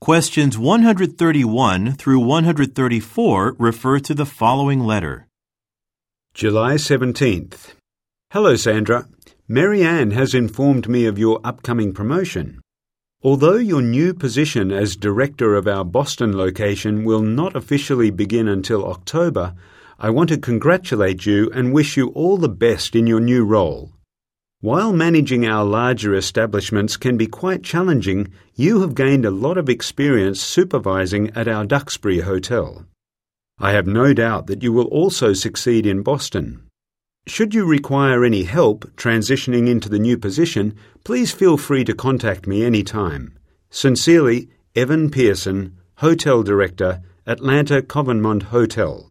Questions 131 through 134 refer to the following letter. July 17th. Hello, Sandra. Mary Ann has informed me of your upcoming promotion. Although your new position as director of our Boston location will not officially begin until October, I want to congratulate you and wish you all the best in your new role. While managing our larger establishments can be quite challenging, you have gained a lot of experience supervising at our Duxbury Hotel. I have no doubt that you will also succeed in Boston. Should you require any help transitioning into the new position, please feel free to contact me anytime. Sincerely, Evan Pearson, Hotel Director, Atlanta Covanmont Hotel.